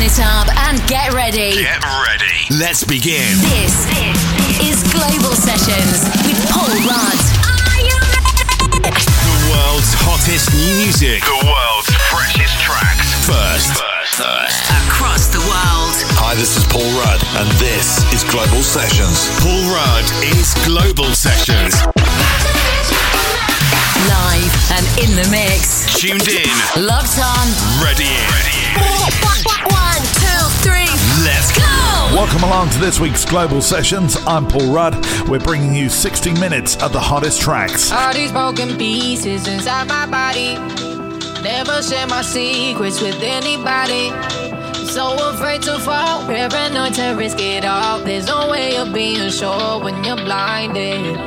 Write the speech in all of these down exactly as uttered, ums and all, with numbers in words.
it up and get ready. Get ready. Let's begin. This is Global Sessions with Paul Rudd. Are you ready? The world's hottest new music. The world's freshest tracks. First. First. First. Across the world. Hi, this is Paul Rudd, and this is Global Sessions. Paul Rudd is Global Sessions. Live and in the mix. Tuned in. Locked on. Ready in. Ready in. One, two, three. Let's go. Welcome along to this week's Global Sessions. I'm Paul Rudd. We're bringing you sixty minutes of the hottest tracks. All these broken pieces inside my body. Never share my secrets with anybody. So afraid to fall, paranoid to risk it all. There's no way of being sure when you're blinded.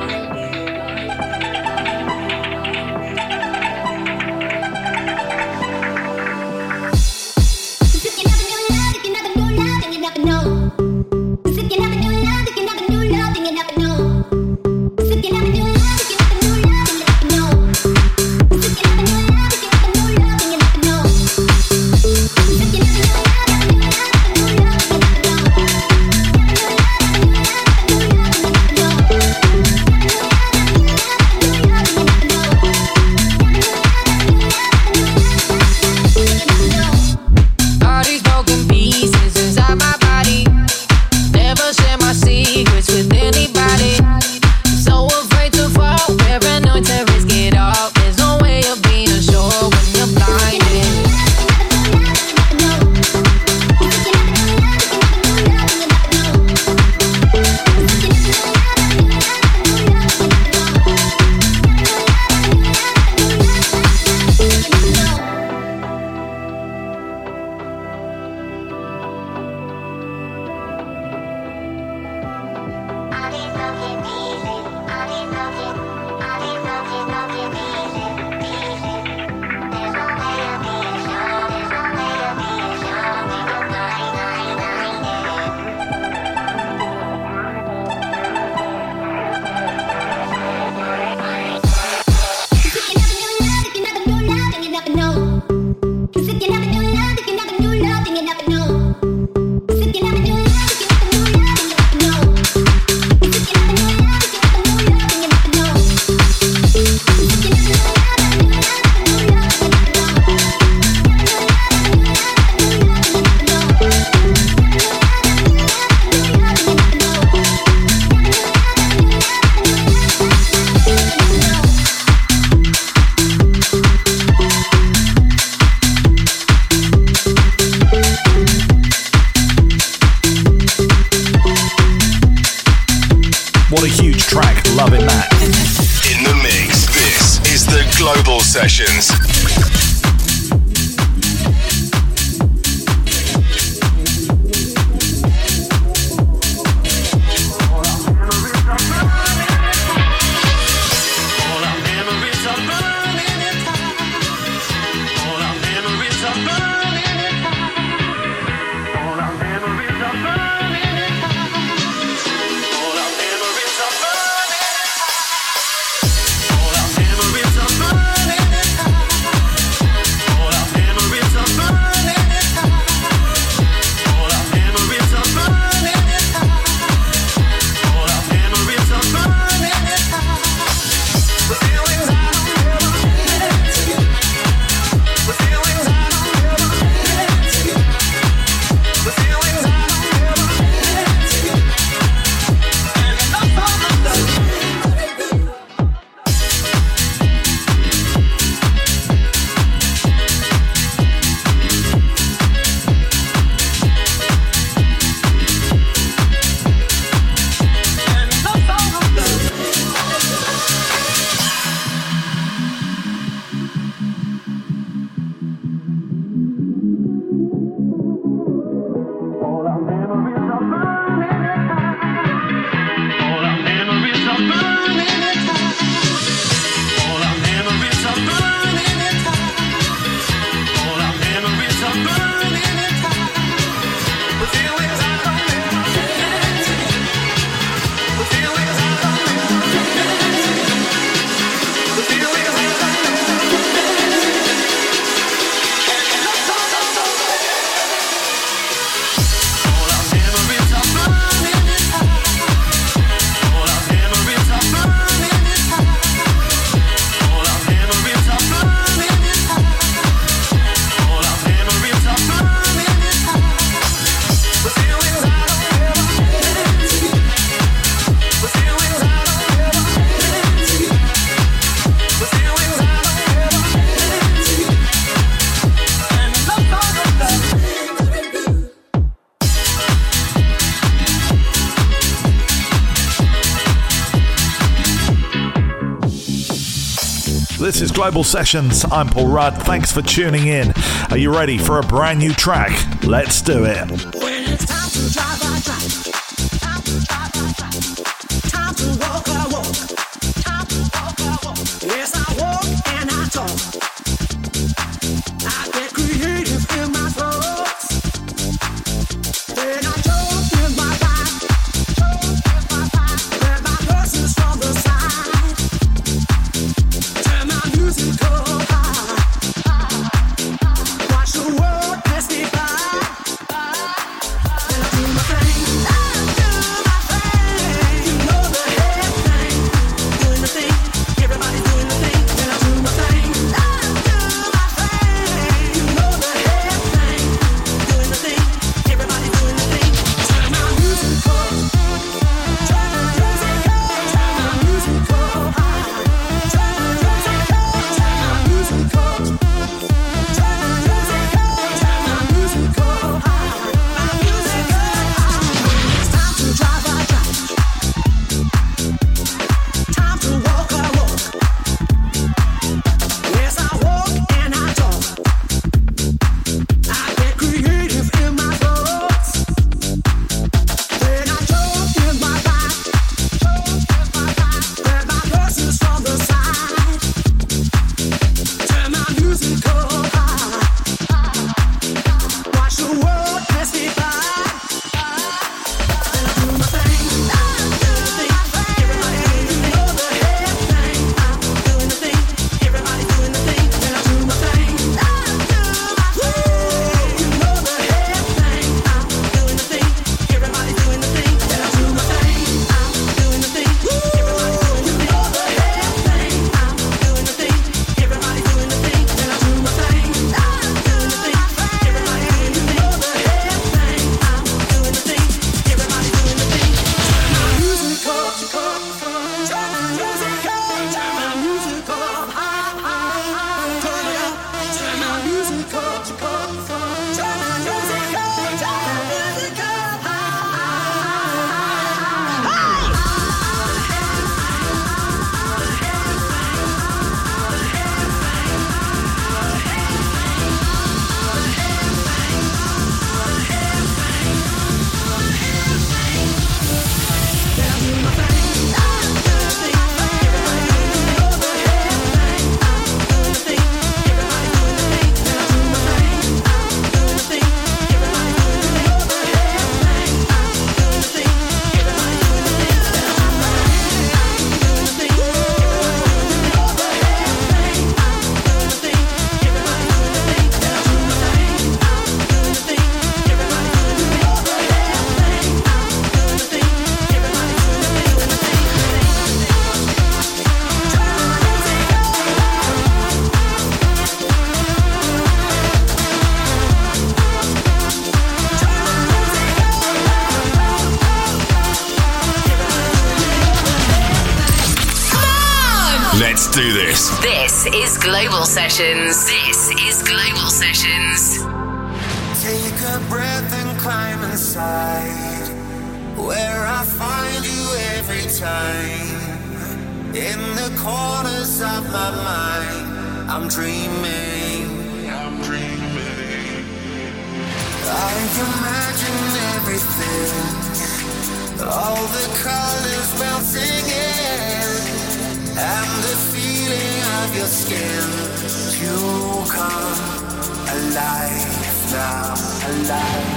Sessions. All our memories are burning. This is Global Sessions. I'm Paul Rudd. Thanks for tuning in. Are you ready for a brand new track? Let's do it. When it's time to drive, I drive. Time to drive, I drive. Time to walk, I walk. Time to walk, I walk. Yes, I walk and I talk. I get creative in my thoughts. Then I jump in my bike. Jump in my bike. Grab my purses from the side. Turn my music up high. Watch the world pass me by. Then I do my thing. I do my thing. You know the head thing. Doing the thing. Everybody's doing the thing. Then I do my thing. I do my thing. You know the head thing. Doing the thing. Everybody's doing the thing. Turn my music up. Turn my music up. Turn my music up high. Turn my music up. Turn my music up. Turn my music up. Turn my music up high. My music up high. It's time to drive, I drive. Time to walk, I walk. Yes, I walk and I talk. I get creative in my thoughts. Then I jump in my bike. Jump in my bike. Grab my purses from the side. Turn my music up high. Watch the world pass me by. Then I do my thing. I do the thing. Everybody do know the head thing. I'm doing the thing. Everybody doing the thing. Then I do my thing. I do my thing. You know the head thing. I'm doing the thing. Everybody doing the thing. Then I do my thing. I'm doing the thing. Everybody doing the thing. You know the head thing. I'm doing the thing. Everybody doing the thing. Then I do my thing. I'm doing the thing. Everybody doing the thing. You know the head thing. I'm doing the thing. Everybody doing the thing. Turn my music up, up. Turn my music up. Turn my music up high, high. Turn it up. Turn my music up, up. Turn my music up. Turn my music up Let's do this. This is Global Sessions. This is Global Sessions. Take a breath and climb inside, where I find you every time. In the corners of my mind, I'm dreaming. I'm dreaming. I imagine everything, all the colors melting in. And the feeling of your skin, you come alive now, alive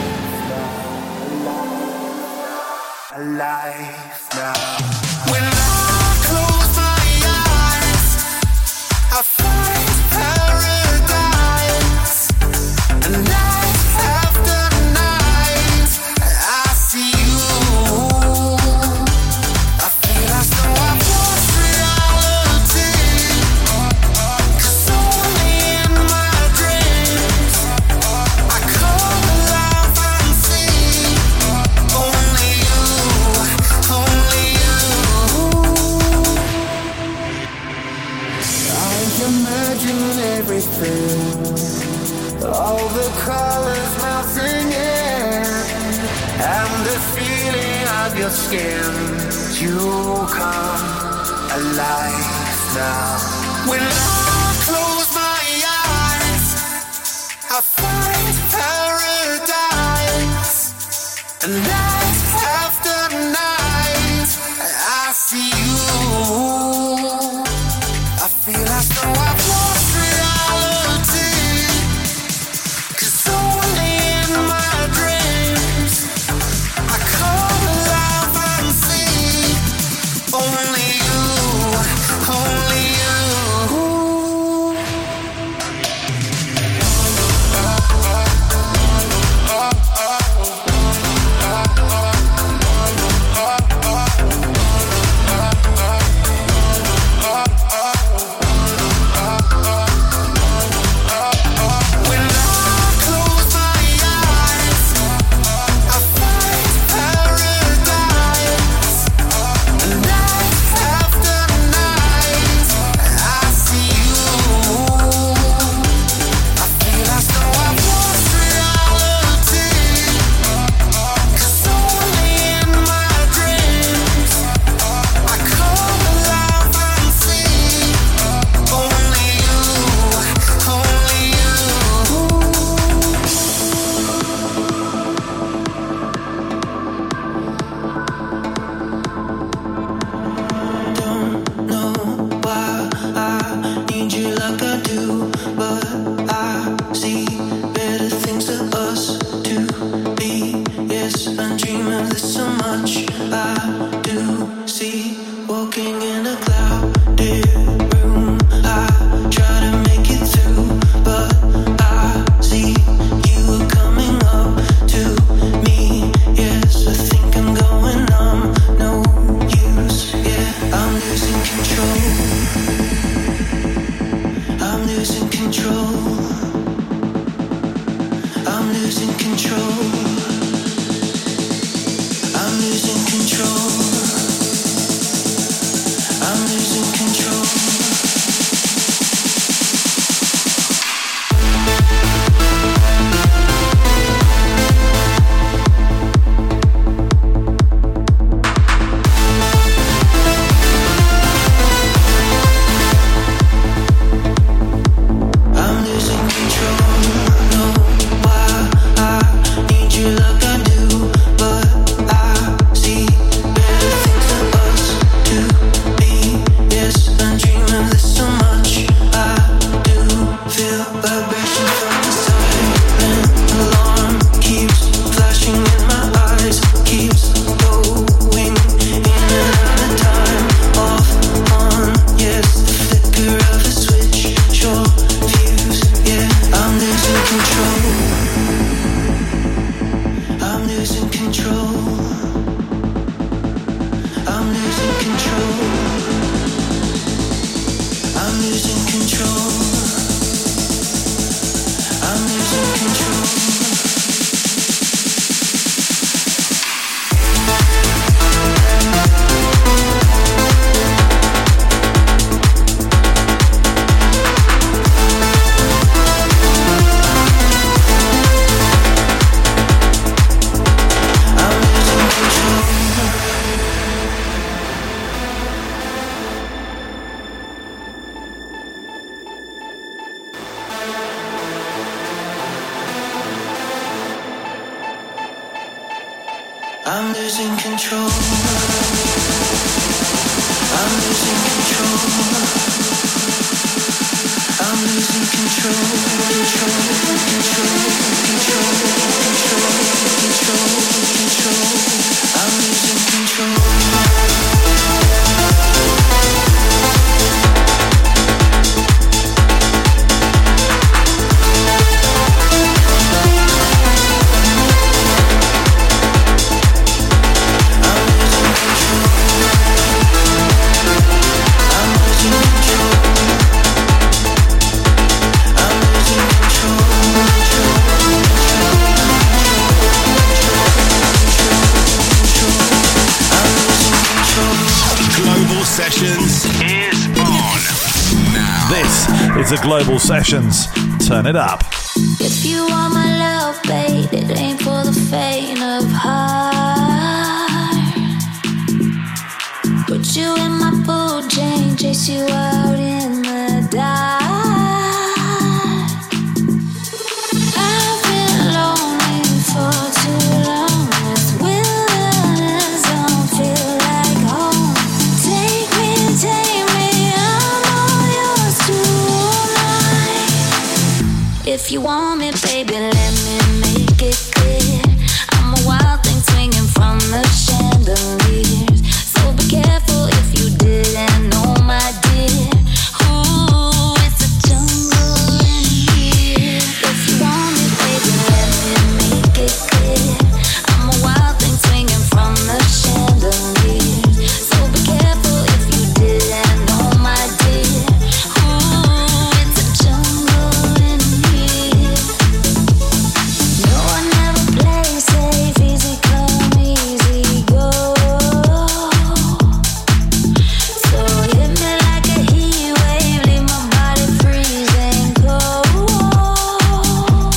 now, alive now. When I close my eyes, I find paradise. And night after night, I see you. I feel as though I've lost reality, 'cause only in my dreams I come alive and see only you, only you. I imagine everything, all the colors melting in, and the feeling of your skin. You come alive now. When I close my eyes, I find paradise. And night after night, I see you. I feel as though I've lost reality. 'Cause only in my dreams I come alive and see only you, only you. I'm losing control. I'm losing control. I'm losing control. Control, control, control, control, control, control. I'm losing control. Sessions is on now. This is a Global Sessions. Turn it up. If you want my love, babe, it ain't for the faint of heart. Put you in my food chain, chase you out in the If you want me, baby, let me make it clear. I'm a wild thing swinging from the chandeliers. So be careful if you didn't know, my dear. Ooh, it's a jungle in here. If you want me, baby, let me make it clear. I'm a wild thing swinging from the chandeliers. So be careful if you didn't know, my dear. Ooh, it's a jungle in here. No, I never play safe. Easy come, easy go. So hit me like a heat wave, leave my body freezing cold.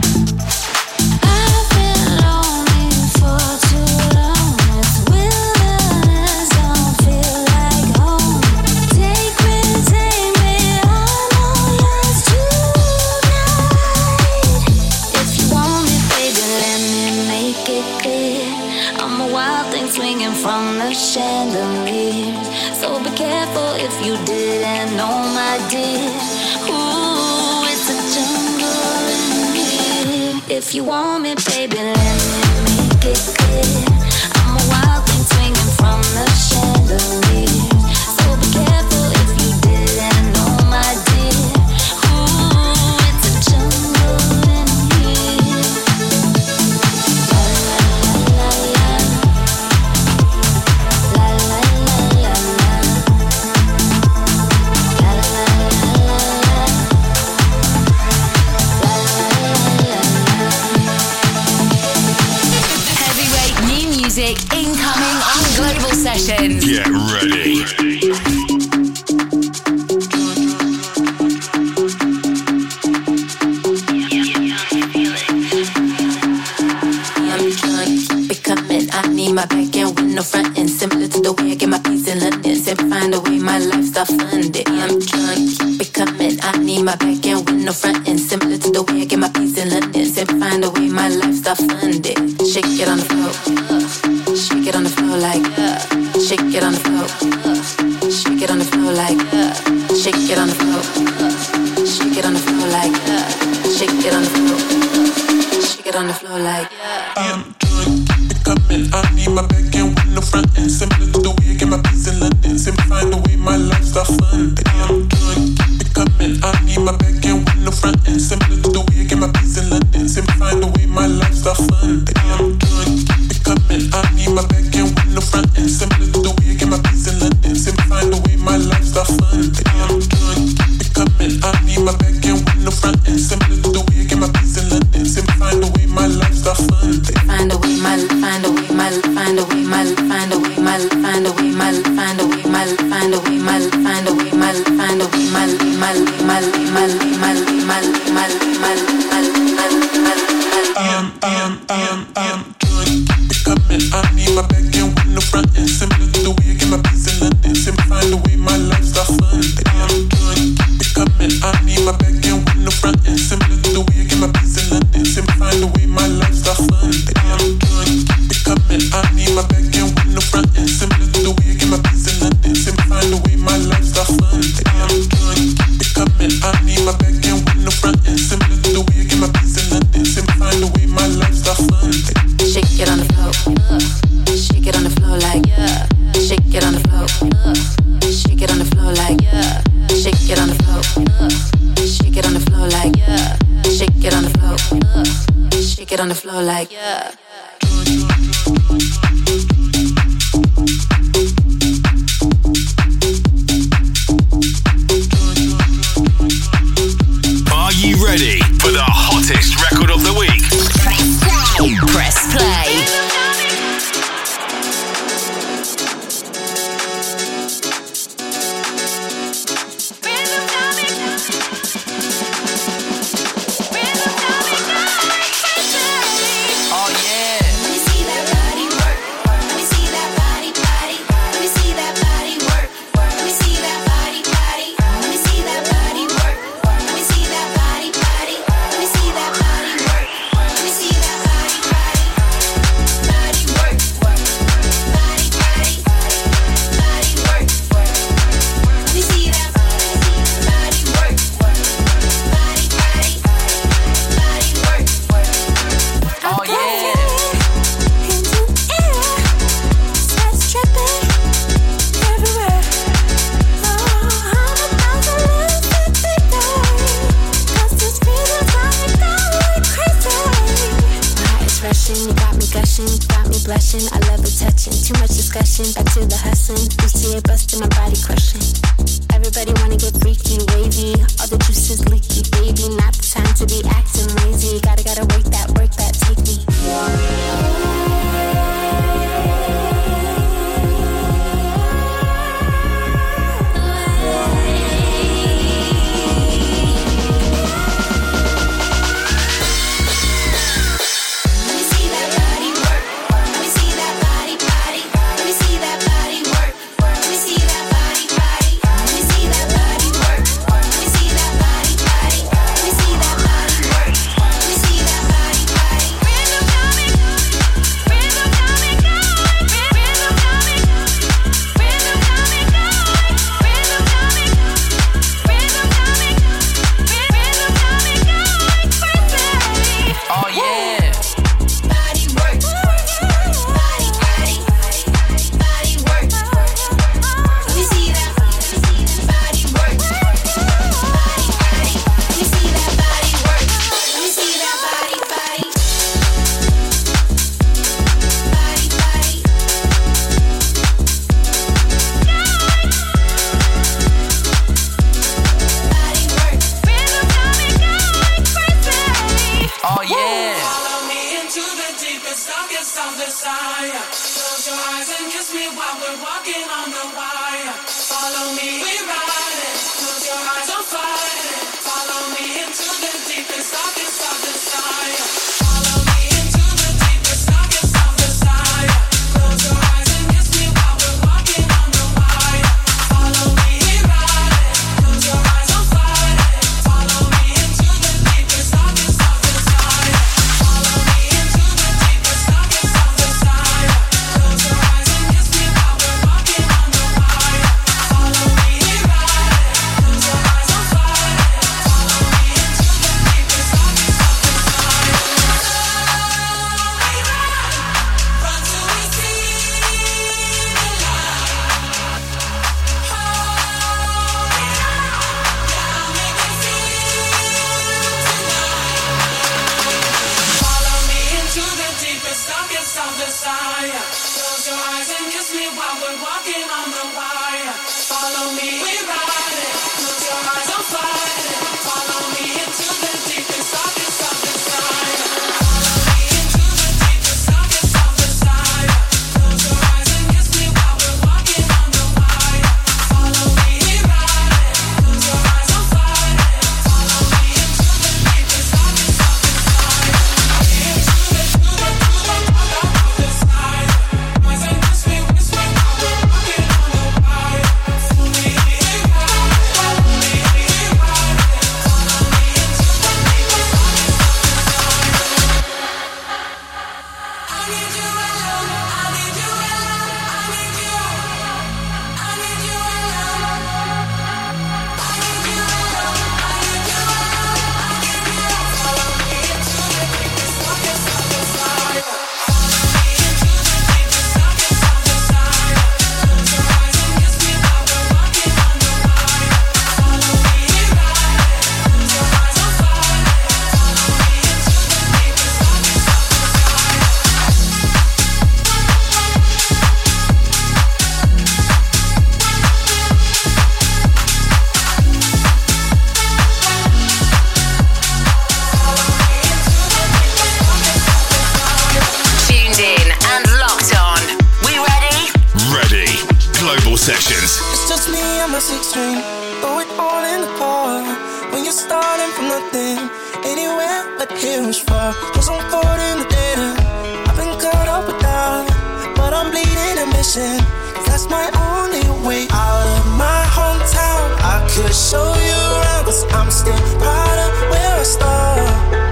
I've been lonely for too long. This wilderness don't feel like home. Take me, take me, I'm all yours tonight. If you want me, baby, let me make it clear. I'm a wild thing swinging from the chandeliers. So be careful if you didn't know, my dear. Ooh, it's a jungle in here. If you want me, baby, let me make it clear. I'm a wild thing swinging from the chandeliers. So be careful if you didn't know, my dear. Ooh, it's a jungle in here. La la la la la, la la la la la, la la la la la. Heavyweight new music incoming on Global Sessions. Get ready. I'm trying to keep it coming. I need my back end with no front end. Similar to the way I get my peace in London. Simply find a way my lifestyle funded. I'm trying to keep it coming. I need my back end with no front end. Similar to the way I get my peace in London. Simply find a way my lifestyle funded. Shake it on the floor. Shake it on the floor like. Shake it on the floor. Shake it on the floor like. Shake it on the floor. Shake it on the floor like. Shake it on the floor. Shake it on the floor like. I'm trying to keep it coming. I need my back end with no front end. Similar to the way I get my peace in London. Simplify the way my lifestyle funded. I'm trying to keep it coming. I need my back end with no front end. Similar to the way I get my peace in London. Simplify the way my lifestyle funded. I'm trying to keep it coming. I need my back end with no front end. Similar to the way I get my peace in London. Simplify the way my lifestyle funded. I'm trying to keep it coming. I need my back end with no front end. Similar to the way I get my peace in London. Simplify the way my lifestyle funded. Find a way, my, find a way, my, find a way, my, find a way, my, find a way, my, find a way, my, find a way, my, find a way, my, find a way, my, my, my, my, my, my, my, my, I'm, I'm, I'm, I'm trying to keep it coming. I need my back end with no front end. Similar to the way I get my peace in London. Simplify the way my lifestyle funded. I'm trying to keep it coming. I need my back end with no front end. Similar to the way I get my peace in London. Simplify the way my lifestyle funded. I'm trying to keep it coming. I need my back end with no front end. Similar to the way I get my peace in London. Simplify the way my lifestyle funded. I'm trying to keep it coming. I need my back end with no front end. Similar to the way I get my peace in London. Simplify the way my lifestyle funded. Shake it on the floor. Shake it on the floor like. Shake it on the floor. Shake it on the floor like. Shake it on the floor. Shake it on the floor like. Shake it on the floor. Shake it on the floor like. Are you ready for the hottest record of the week? Press play. Oh yeah. Let me see that body work. Let me see that body, body. Let me see that body work. Let me see that body, body. Let me see that body work. Let me see that body, body. Let me see that body work. rushing, you got me gushing, got me blushing. I love the touching, too much discussion. Back to the hustling, you see it busting, my body crushing. Everybody wanna get freaky, wavy. All the juices leaky, baby. Not the time to be acting lazy. Gotta gotta work that, work that, take me. Sessions. It's just me and my six string. Throw it all in the car. When you're starting from nothing, anywhere but here is far. Cause I'm caught in the data. I've been caught up with that, but I'm bleeding ambition. Cause that's my only way out of my hometown. I could show you around, cause I'm still proud of where I start.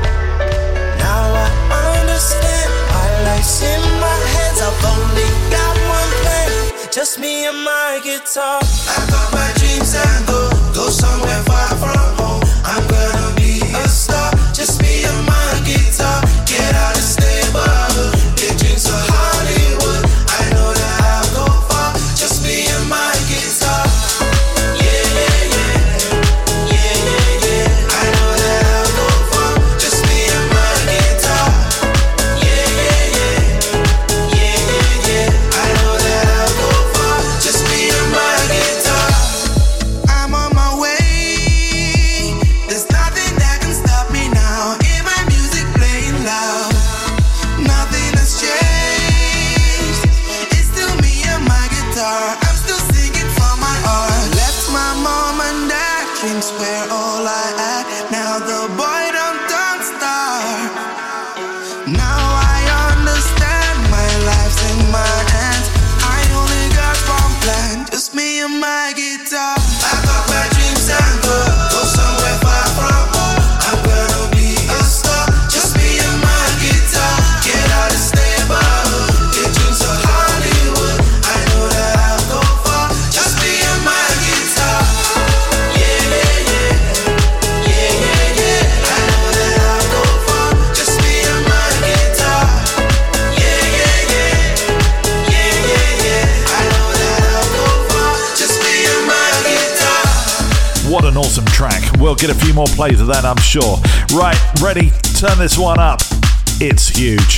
Now I understand my life's in my hands. I've only got one plan. Just me and my guitar. I got my dreams and go, go somewhere far from home. I'm gonna be a star. Just me and my guitar. Get out and stay above. Big dreams for Hollywood. I know that I'll go far. Just me and my guitar. Yeah, yeah, yeah. Yeah, yeah, yeah. I know that I'll go far. Just me and my guitar. Yeah, yeah, We'll get a few more plays of that, I'm sure. Right, ready? Turn this one up. It's huge.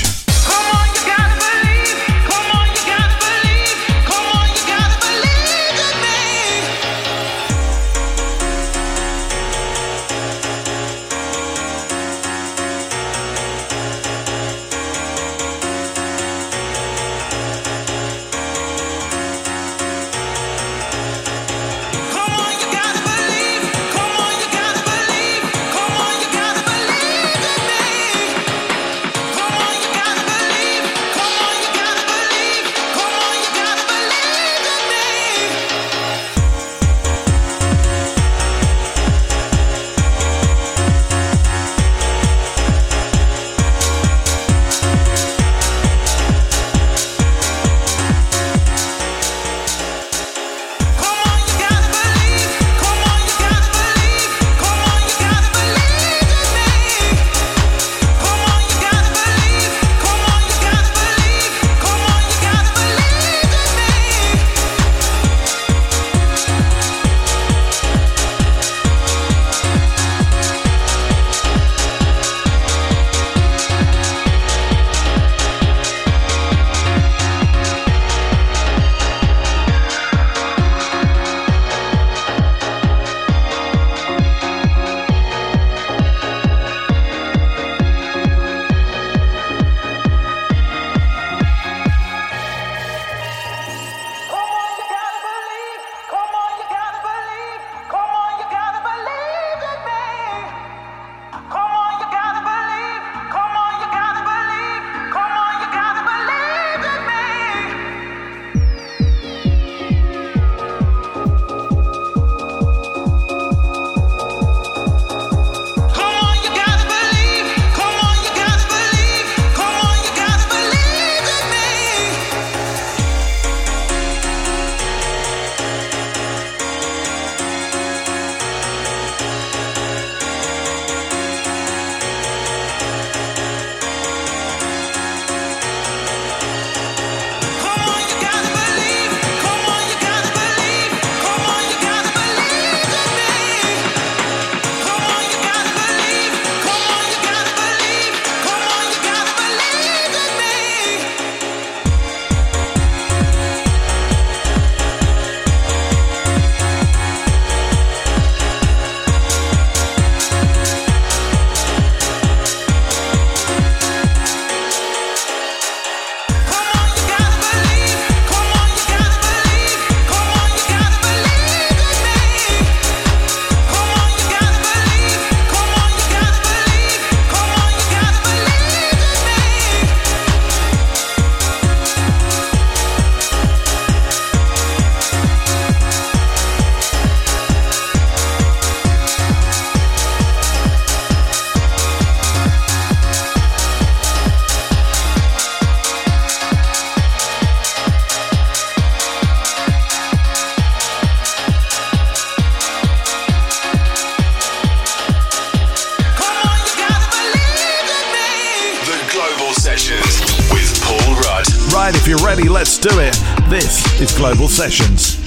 right, if you're ready, let's do it. This is Global Sessions.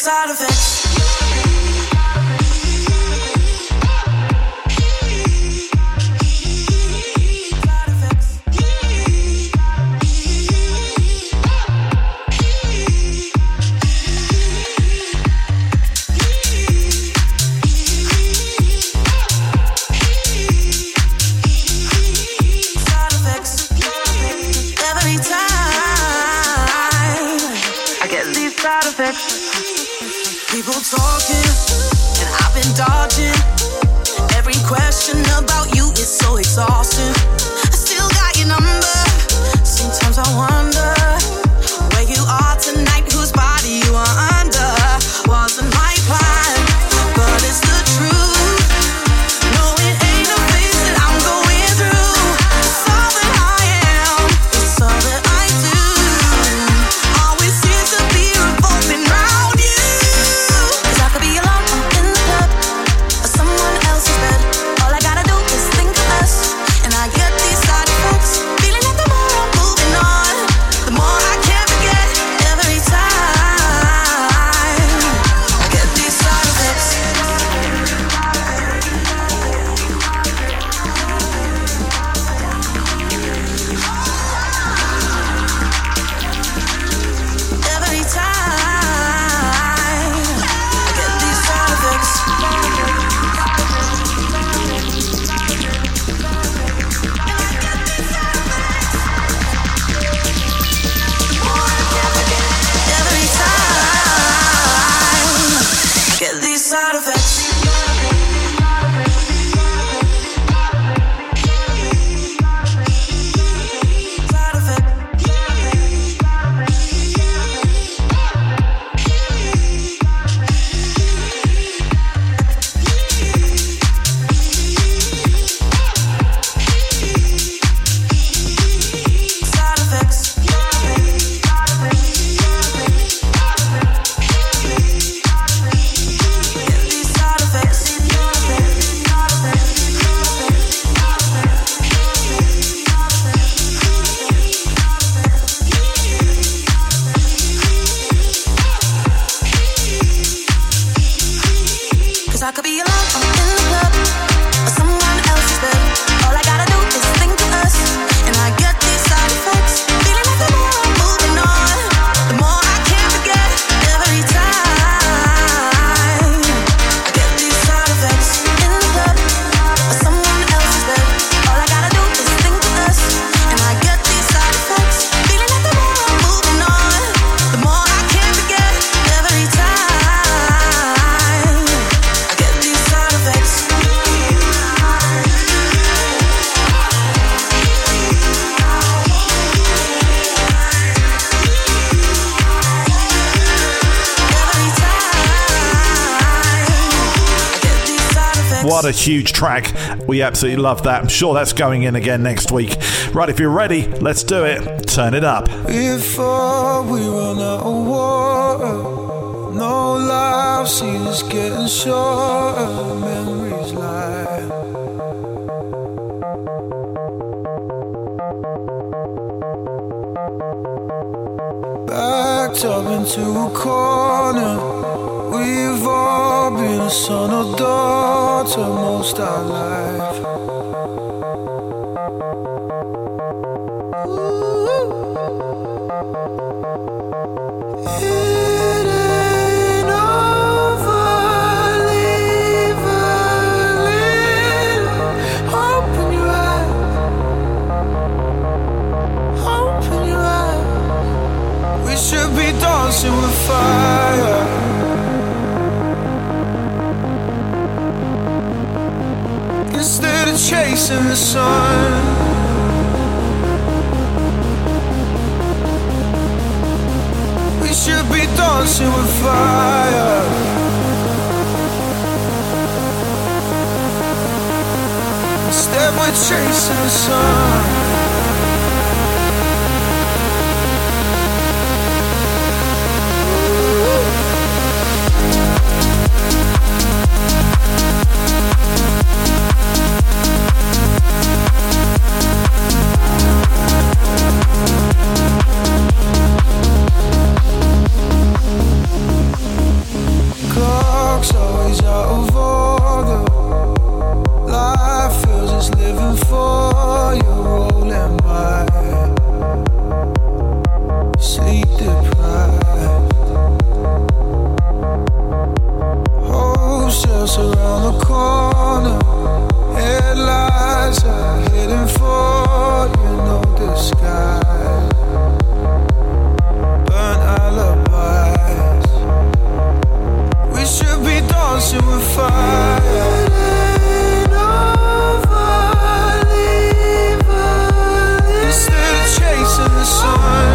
side effects. People talking, and I've been dodging. Every question about you is so exhausting. I still got your number. Sometimes I wonder where you are tonight, whose body you are under. Wasn't my plan, but it's the truth. No, it ain't a phase that I'm going through. It's all that I am, it's all that I do. Always seems to be revolving round you. I could be alone in the club or someone else's bed. All I gotta do is think of us, and I get these side effects. Feeling like the more I'm moving on, the more I can't forget. Every time I get these side effects. Every time I get these side effects. Every time I get these side effects. Side effects. Side effects. Get these side effects. Cause I could be alone in the club or someone else's bed. All I gotta do is think of us, and I get these side effects. Feeling like the more I'm moving on, the more I can't forget. Every time I get these side effects in the club or someone else's bed. All I gotta do is think of us, and I get these side effects. Feeling like the more I'm moving on, the more I can't forget. Every time I get these side effects. Every time I get these side effects. What a huge track. We absolutely love that. I'm sure that's going in again next week. Right, if you're ready, let's do it. Turn it up. Before we run out of water, no life seems getting shorter. Memories lie. Backed up into a corner. We've all been a son or daughter most our life. It ain't over, leave a little. Open your eyes, open your eyes. We should be dancing with fire. Instead of chasing the sun. We should be dancing with fire. Instead we're chasing the sun. living for you, rolling by, sleep deprived. Hopes just around the corner, headlights are hidden for you, no disguise. Burnt alibis, we should be dancing with fire. Instead of chasing the sun,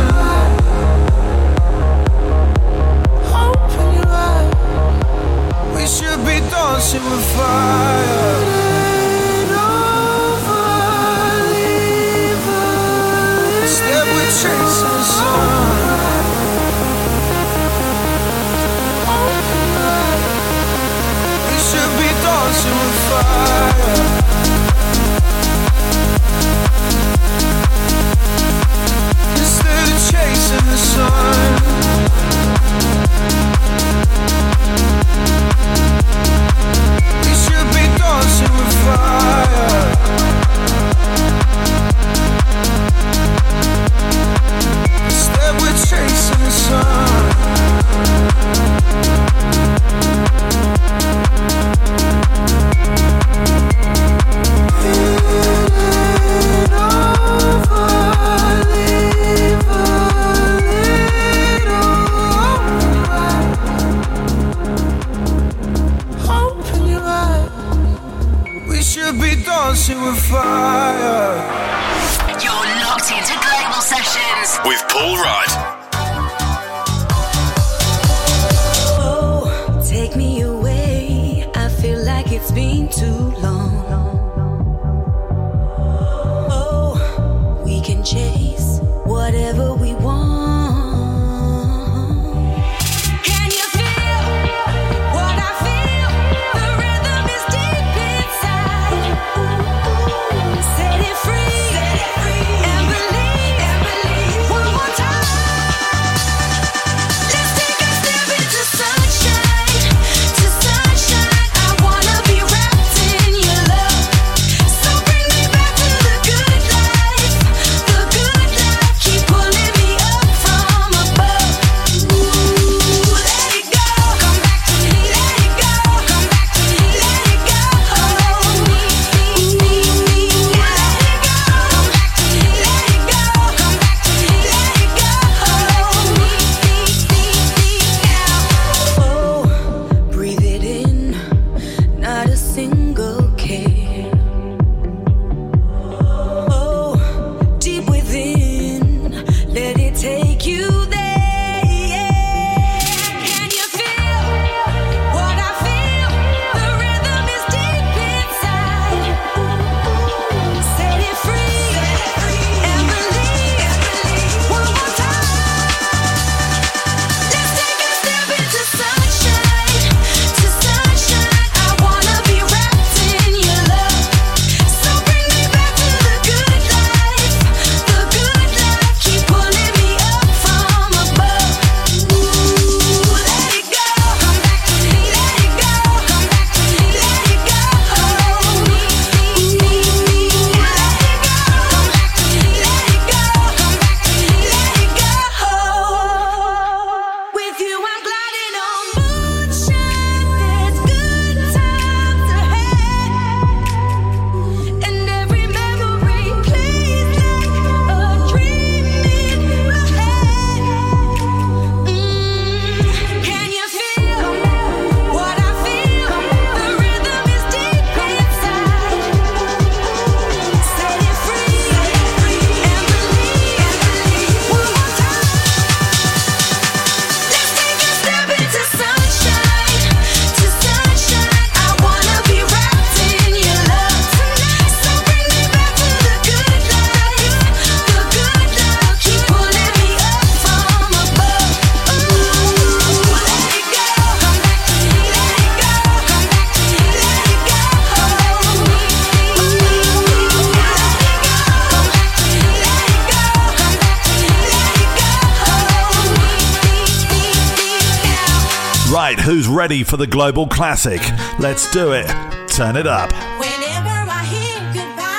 open your eyes. We should be dancing with fire. Instead we're chasing the sun. Open your eyes. We should be dancing with fire. Instead of chasing the sun, we should be dancing with fire. Instead we're chasing the sun. Dancing with fire. You're locked into Global Sessions with Paul Rudd. Oh, take me away. I feel like it's been too long. Oh, we can chase whatever we want. Right, who's ready for the Global Classic? Let's do it. Turn it up. Whenever I hear goodbye.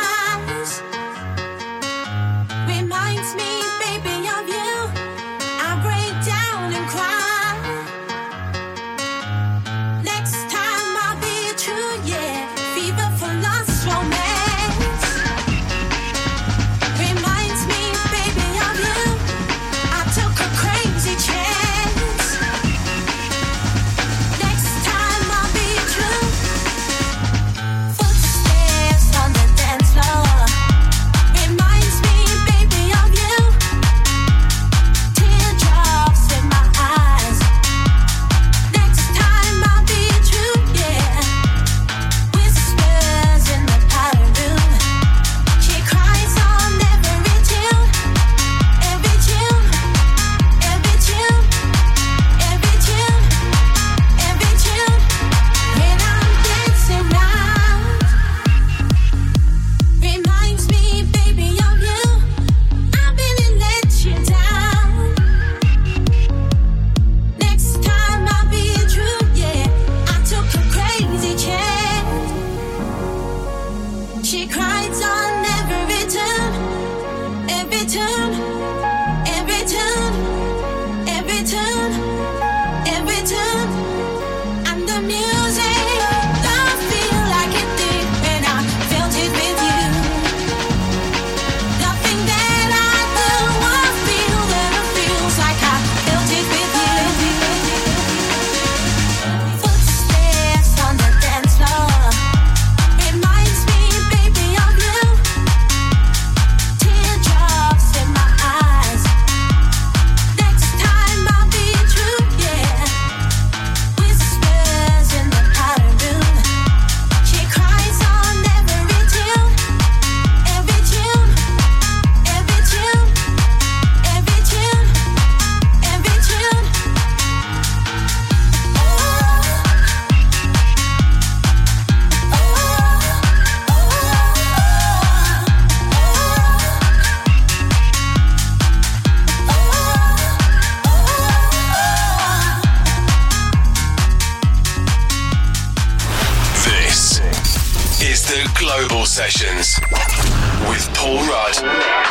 Global Sessions with Paul Rudd.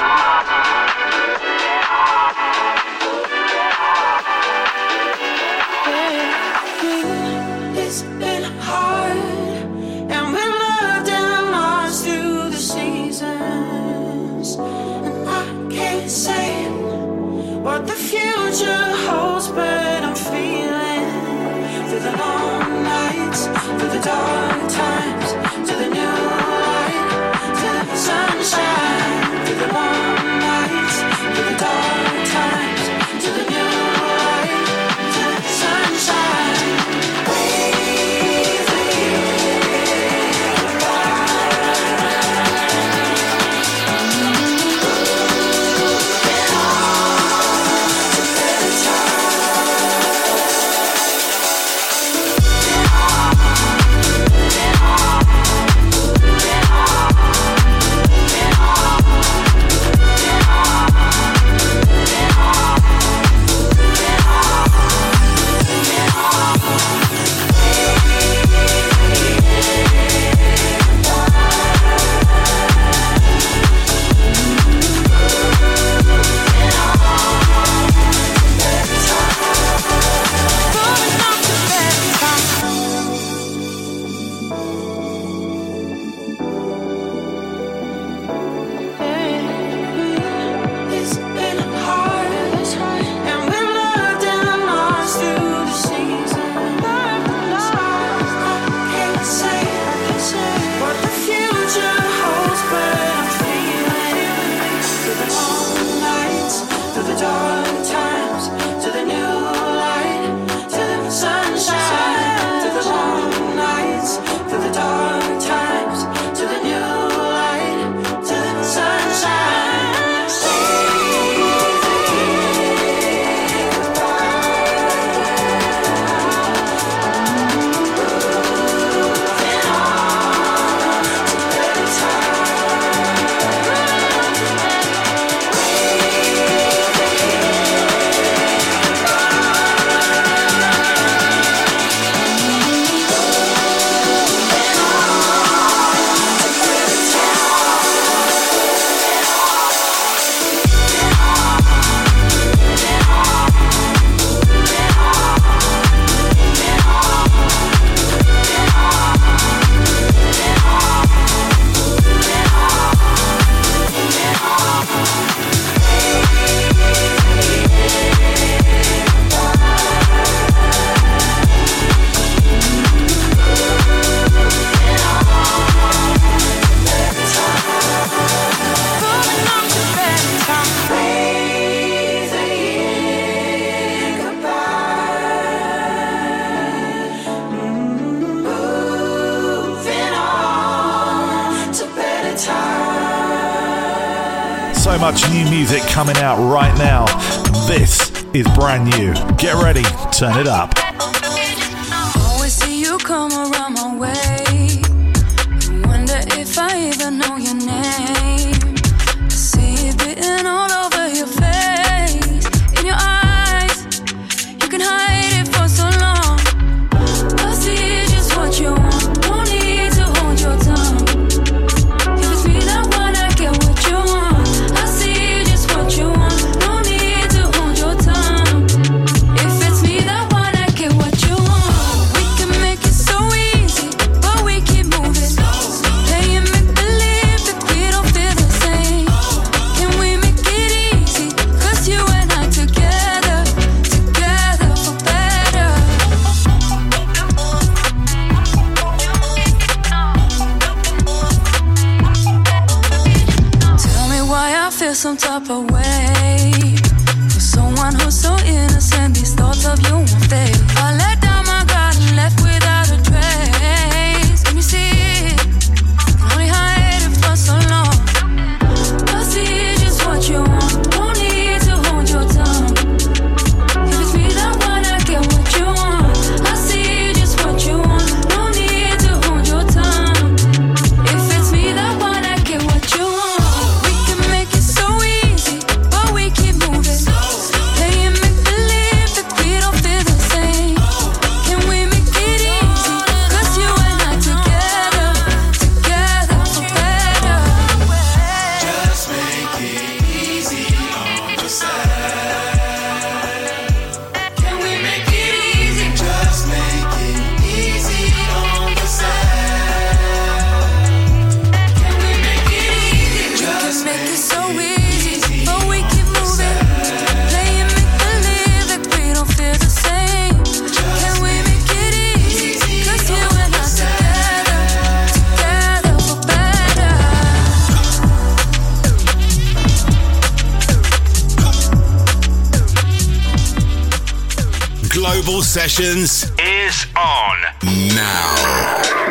It's been hard, and we've loved and lost through the seasons. And I can't say what the future holds, but I'm feeling through the long nights, through the dark times, to the new light, to the sunshine, through the long nights, through the dark times, to the new light, to the sunshine. So much new music coming out right now. This is brand new. Get ready, turn it up. Always see you come around my way. Wonder if I even know your name. I see it written all over your face, in your eyes. You can hide it for so long. I see just what you want. No need to hold your tongue. If it's me that wanna get what you want, I see just what you want. No need to hold your tongue. If it's me that wanna get what you want, we can make it so easy, but we keep moving. Playing make believe that we don't feel the same. Can we make it easy? 'Cause you and I together, together for better. Tell me why I feel some type of way for someone who's so innocent. These thoughts of you won't fade. I let down my guard and left without a trace. Can you see it? Can only hide it for so long. I see just what you want. No need to hold your tongue. If it's me that wanna get what you want, I see just what you want. No need to hold your tongue. If it's me that wanna get what you want, we can make it so easy, Global Sessions is on now.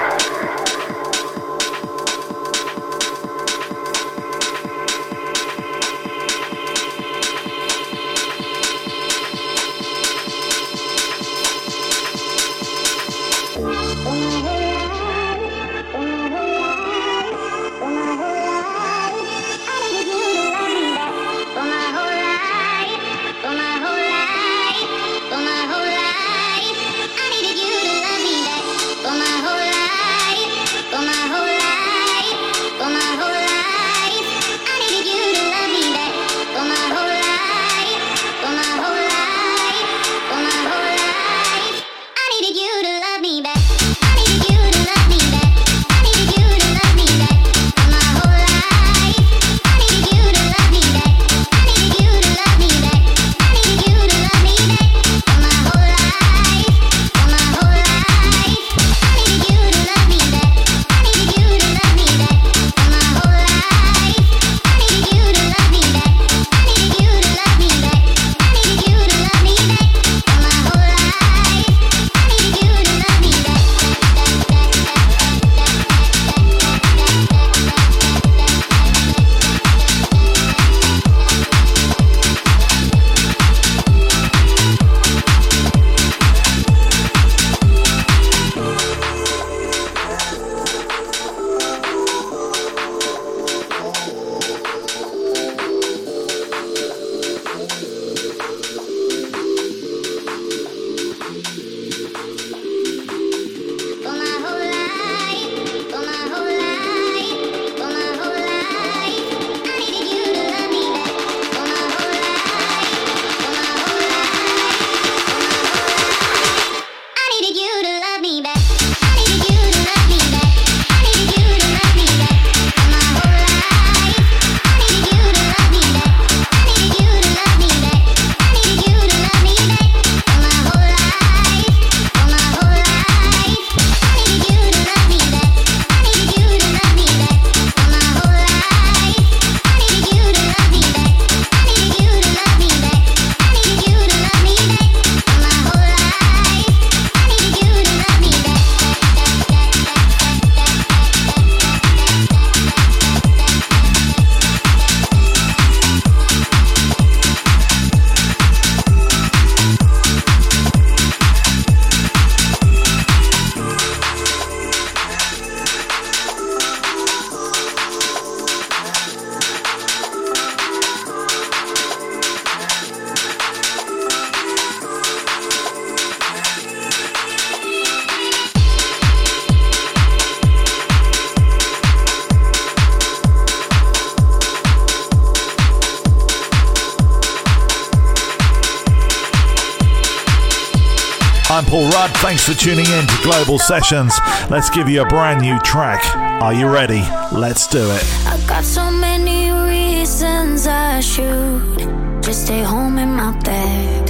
I'm Paul Rudd. Thanks for tuning in to Global Sessions. Let's give you a brand new track. Are you ready? Let's do it. I got so many reasons I should just stay home in my bed.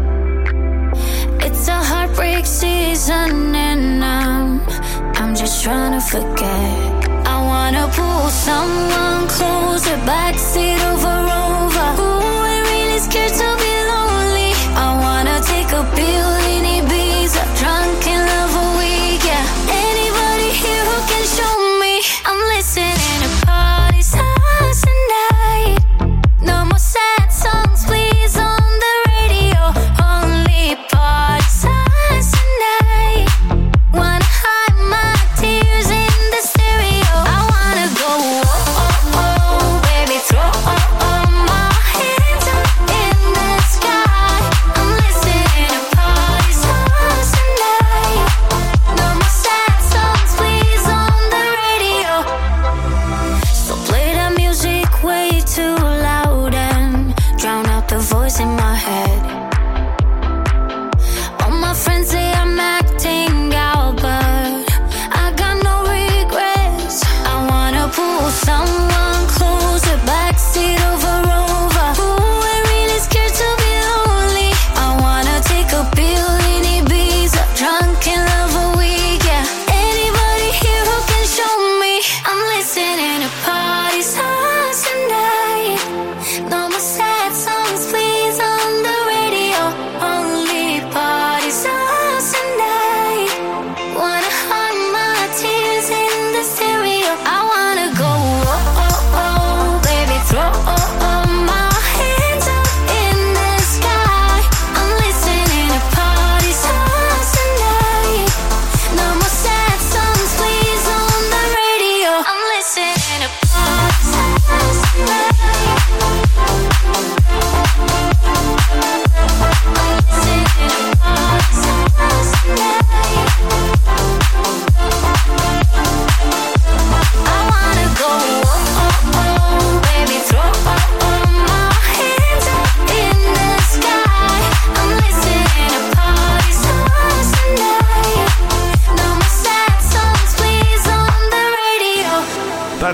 It's a heartbreak season and I'm, I'm just trying to forget. I wanna pull someone closer, backseat over over. Ooh, I'm really scared to be lonely. I wanna take a pill in Ibiza, drunk in love a week, yeah. Anybody here who can show me? I'm listening to party songs tonight. No more sad songs, please, on the radio. Only party songs tonight. Wanna hide my tears in the stereo. I wanna go, oh, oh, oh, baby, throw oh, oh, my hands up in the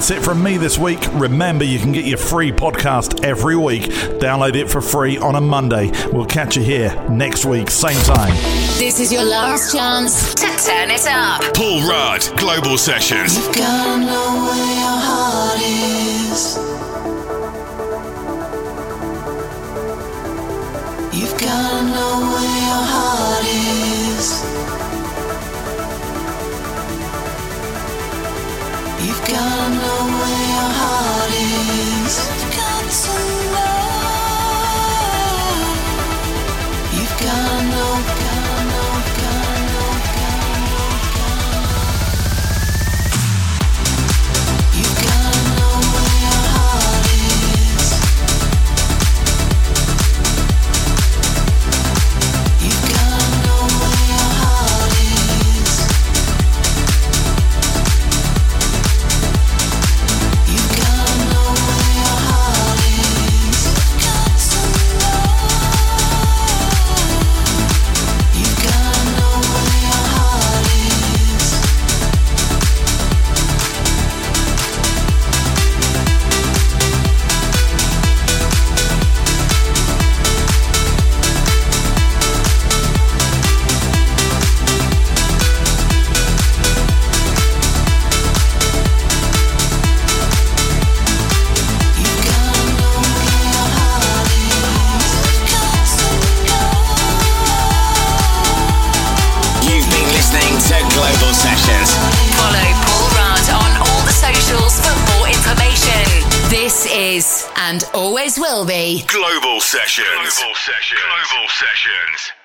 That's it from me this week. Remember, you can get your free podcast every week. Download it for free on a Monday. We'll catch you here next week, same time. This is your last chance to turn it up. Paul Rudd, Global Sessions. You've gotta know where your heart is. You've gotta know where your heart is. You've gotta know where your heart is. You've got to know. You've gotta know, gotta know, gotta know, gotta know, gotta know. You've gotta know where your heart is. You've gotta know where your heart is. You've gotta know where your heart is. Got to know. You've gotta know where your heart is. You've gotta know where your heart is. Got to know. You've been listening to Global Sessions. Follow Paul Rudd on all the socials for more information. This is and always will be Global Sessions. Global Sessions. Global Sessions.